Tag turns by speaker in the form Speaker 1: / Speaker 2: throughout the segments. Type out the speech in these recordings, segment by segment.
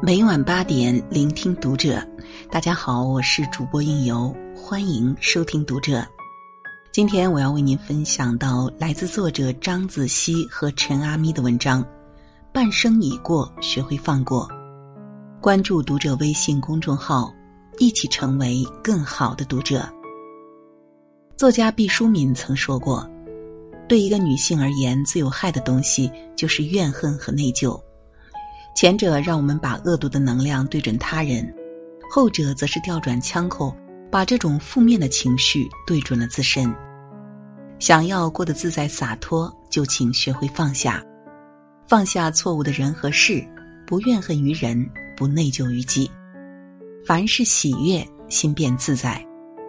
Speaker 1: 每晚8点，聆听读者。大家好，我是主播应由，欢迎收听读者。今天我要为您分享到来自作者张子熙和陈阿咪的文章《半生已过，学会放过》。关注读者微信公众号，一起成为更好的读者。作家毕淑敏曾说过，对一个女性而言，最有害的东西就是怨恨和内疚。前者让我们把恶毒的能量对准他人，后者则是调转枪口，把这种负面的情绪对准了自身。想要过得自在洒脱，就请学会放下，放下错误的人和事，不怨恨于人，不内疚于己。凡是喜悦，心便自在。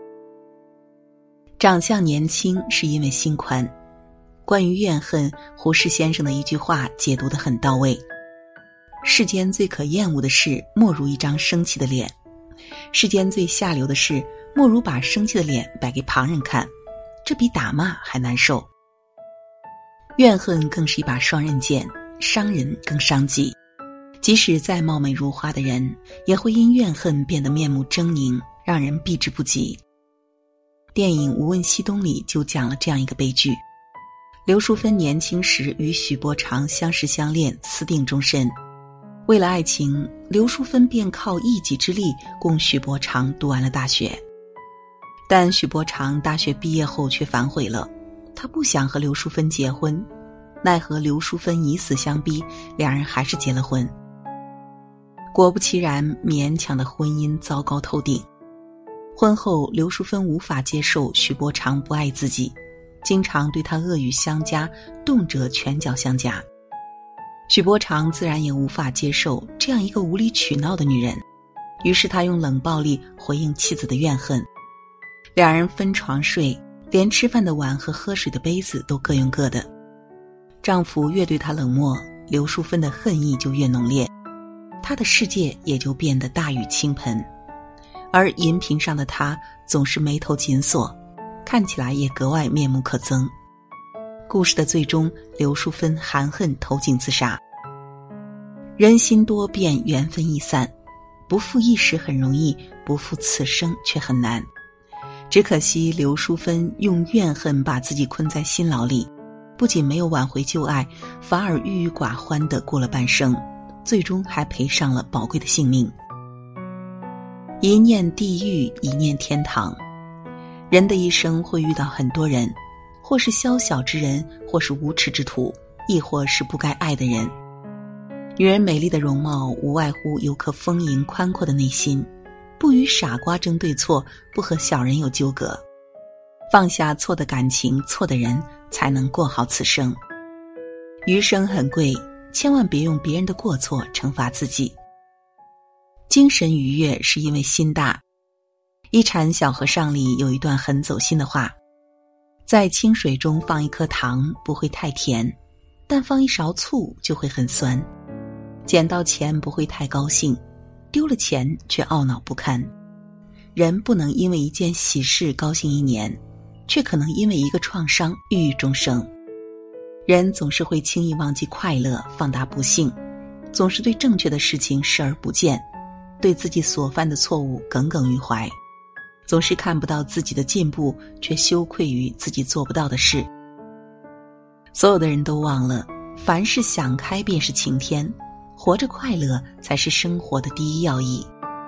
Speaker 1: 长相年轻是因为心宽。关于怨恨，胡适先生的一句话解读得很到位。世间最可厌恶的事，莫如一张生气的脸；世间最下流的事，莫如把生气的脸摆给旁人看，这比打骂还难受。怨恨更是一把双刃剑，伤人更伤己。即使再貌美如花的人，也会因怨恨变得面目狰狞，让人避之不及。电影《无问西东》里就讲了这样一个悲剧。刘淑芬年轻时与许伯常相识相恋，私定终身。为了爱情，刘淑芬便靠一己之力供许伯常读完了大学。但许伯常大学毕业后却反悔了，他不想和刘淑芬结婚，奈何刘淑芬以死相逼，两人还是结了婚。果不其然，勉强的婚姻糟糕透顶。婚后，刘淑芬无法接受许伯常不爱自己，经常对他恶语相加，动辄拳脚相加。许伯常自然也无法接受这样一个无理取闹的女人，于是他用冷暴力回应妻子的怨恨。两人分床睡，连吃饭的碗和喝水的杯子都各用各的。丈夫越对她冷漠，刘淑芬的恨意就越浓烈，她的世界也就变得大雨倾盆。而银屏上的她总是眉头紧锁，看起来也格外面目可憎。故事的最终，刘淑芬含恨投井自杀。人心多变，缘分易散，不负一时很容易，不负此生却很难。只可惜刘淑芬用怨恨把自己困在心牢里，不仅没有挽回旧爱，反而郁郁寡欢地过了半生，最终还赔上了宝贵的性命。一念地狱，一念天堂。人的一生会遇到很多人，或是宵小之人，或是无耻之徒，亦或是不该爱的人。女人美丽的容貌无外乎有颗丰盈宽阔的内心，不与傻瓜争对错，不和小人有纠葛。放下错的感情，错的人，才能过好此生。余生很贵，千万别用别人的过错惩罚自己。精神愉悦是因为心大。一禅小和尚里有一段很走心的话，在清水中放一颗糖不会太甜，但放一勺醋就会很酸。捡到钱不会太高兴，丢了钱却懊恼不堪。人不能因为一件喜事高兴1年，却可能因为一个创伤郁郁终生。人总是会轻易忘记快乐，放大不幸，总是对正确的事情视而不见，对自己所犯的错误耿耿于怀，总是看不到自己的进步，却羞愧于自己做不到的事。所有的人都忘了，凡事想开便是晴天，活着快乐才是生活的第一要义。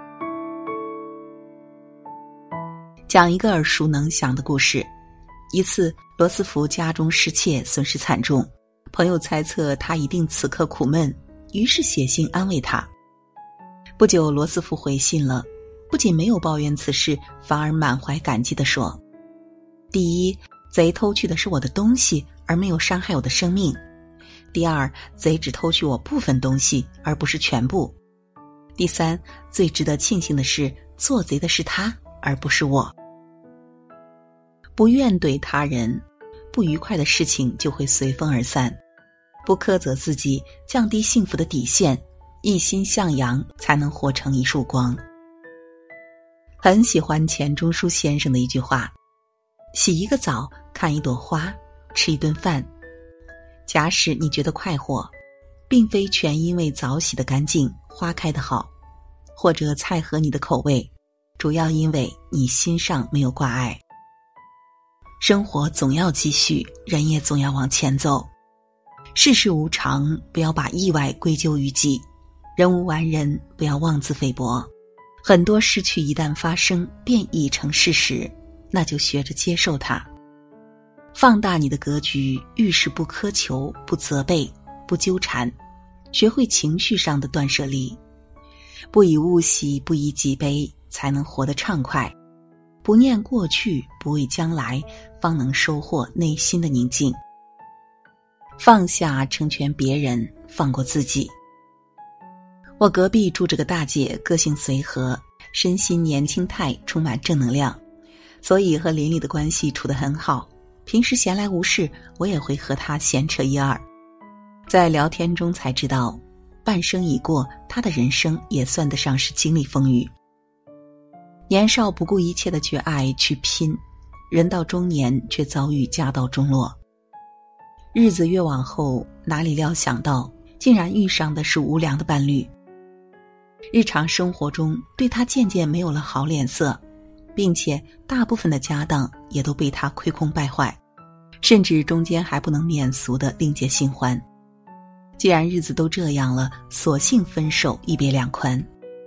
Speaker 1: 讲一个耳熟能详的故事。一次，罗斯福家中失窃，损失惨重，朋友猜测他一定此刻苦闷，于是写信安慰他。不久，罗斯福回信了，不仅没有抱怨此事，反而满怀感激地说：第一，贼偷去的是我的东西，而没有伤害我的生命；第二，贼只偷去我部分东西，而不是全部；第三，最值得庆幸的是，做贼的是他，而不是我。不怨怼他人，不愉快的事情就会随风而散；不苛责自己，降低幸福的底线，一心向阳，才能活成一束光。很喜欢钱钟书先生的一句话：洗一个澡，看一朵花，吃一顿饭。假使你觉得快活，并非全因为澡洗得干净， 花开得好，或者菜合你的口味，主要因为你心上没有挂碍。生活总要继续，人也总要往前走。世事无常，不要把意外归咎于己；人无完人，不要妄自菲薄。很多失去一旦发生，便已成事实，那就学着接受它。放大你的格局，遇事不苛求，不责备，不纠缠，学会情绪上的断舍离。不以物喜，不以己悲，才能活得畅快。不念过去，不畏将来，方能收获内心的宁静。放下成全别人，放过自己。我隔壁住着个大姐，个性随和，身心年轻态，充满正能量，所以和邻里的关系处得很好。平时闲来无事，我也会和她闲扯一二。在聊天中才知道，半生已过，她的人生也算得上是经历风雨。年少不顾一切的去爱去拼，人到中年却遭遇家道中落。日子越往后，哪里料想到竟然遇上的是无良的伴侣。日常生活中对他渐渐没有了好脸色，并且大部分的家当也都被他亏空败坏，甚至中间还不能免俗的另结新欢。既然日子都这样了，索性分手，一别两宽。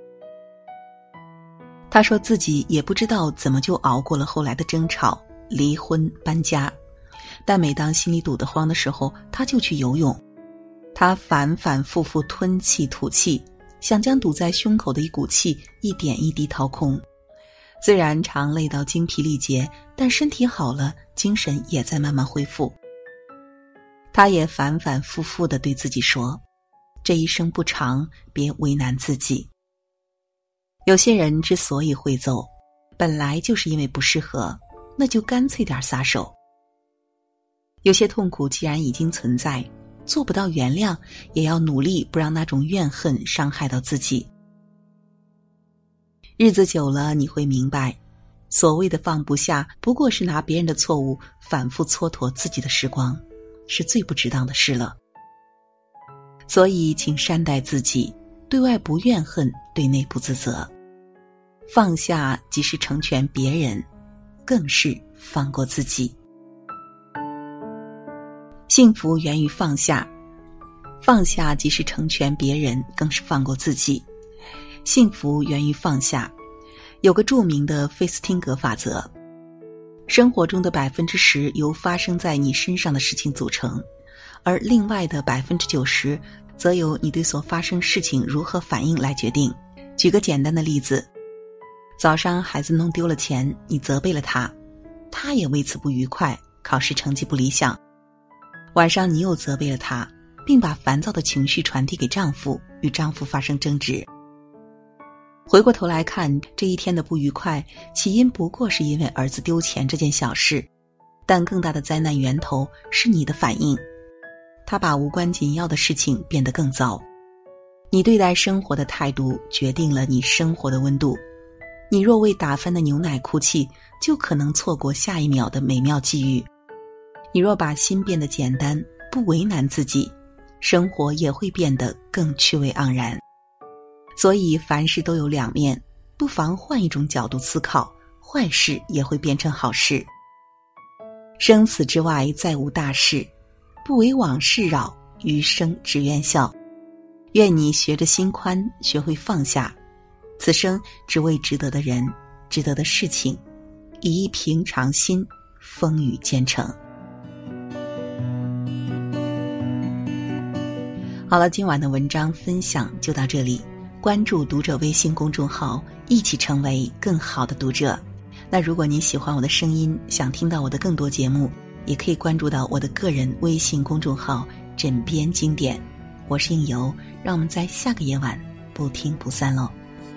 Speaker 1: 他说自己也不知道怎么就熬过了后来的争吵、离婚、搬家，但每当心里堵得慌的时候，他就去游泳。他反反复复吞气吐气，想将堵在胸口的一股气一点一滴掏空。虽然常累到精疲力竭，但身体好了，精神也在慢慢恢复。他也反反复复地对自己说，这一生不长，别为难自己。有些人之所以会走，本来就是因为不适合，那就干脆点撒手。有些痛苦既然已经存在，做不到原谅，也要努力不让那种怨恨伤害到自己。日子久了，你会明白，所谓的放不下，不过是拿别人的错误反复蹉跎自己的时光，是最不值当的事了。所以请善待自己，对外不怨恨，对内不自责。放下即是成全别人，更是放过自己。幸福源于放下，放下即是成全别人，更是放过自己。幸福源于放下。有个著名的费斯汀格法则，生活中的10%由发生在你身上的事情组成，而另外的90%则由你对所发生事情如何反应来决定。举个简单的例子，早上孩子弄丢了钱，你责备了他，他也为此不愉快，考试成绩不理想。晚上你又责备了他，并把烦躁的情绪传递给丈夫，与丈夫发生争执。回过头来看，这一天的不愉快，起因不过是因为儿子丢钱这件小事，但更大的灾难源头是你的反应，他把无关紧要的事情变得更糟。你对待生活的态度决定了你生活的温度。你若为打翻的牛奶哭泣，就可能错过下一秒的美妙际遇。你若把心变得简单，不为难自己，生活也会变得更趣味盎然。所以凡事都有两面，不妨换一种角度思考，坏事也会变成好事。生死之外再无大事，不为往事扰，余生只愿笑。愿你学着心宽，学会放下，此生只为值得的人，值得的事情，以一平常心，风雨兼程。好了，今晚的文章分享就到这里。关注读者微信公众号，一起成为更好的读者。那如果您喜欢我的声音，想听到我的更多节目，也可以关注到我的个人微信公众号枕边经典。我是应由，让我们在下个夜晚不听不散喽。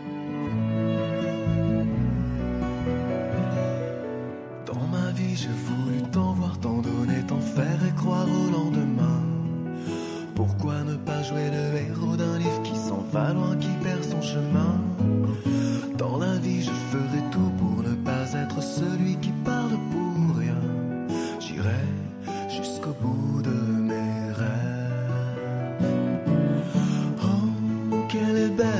Speaker 2: Pourquoi ne pas jouer le héros d'un livre qui s'en va loin, qui perd son chemin? Dans la vie je ferai tout pour ne pas être celui qui parle pour rien. J'irai jusqu'au bout de mes rêves. Oh, quelle est belle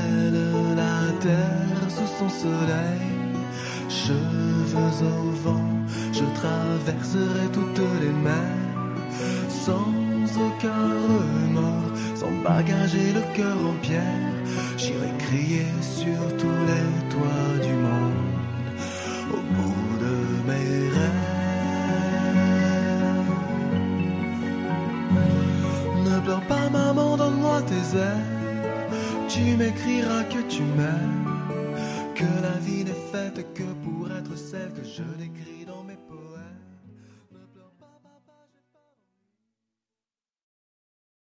Speaker 2: au vent, je traverserai toutes les mers, sans aucun remords, sans bagage et le cœur en pierre. J'irai crier sur tous les toits du monde, au bout de mes rêves. Ne pleure pas maman, donne-moi tes ailes, tu m'écriras que tu m'aimes, que la vie n'est faite que pour être celle que je décris.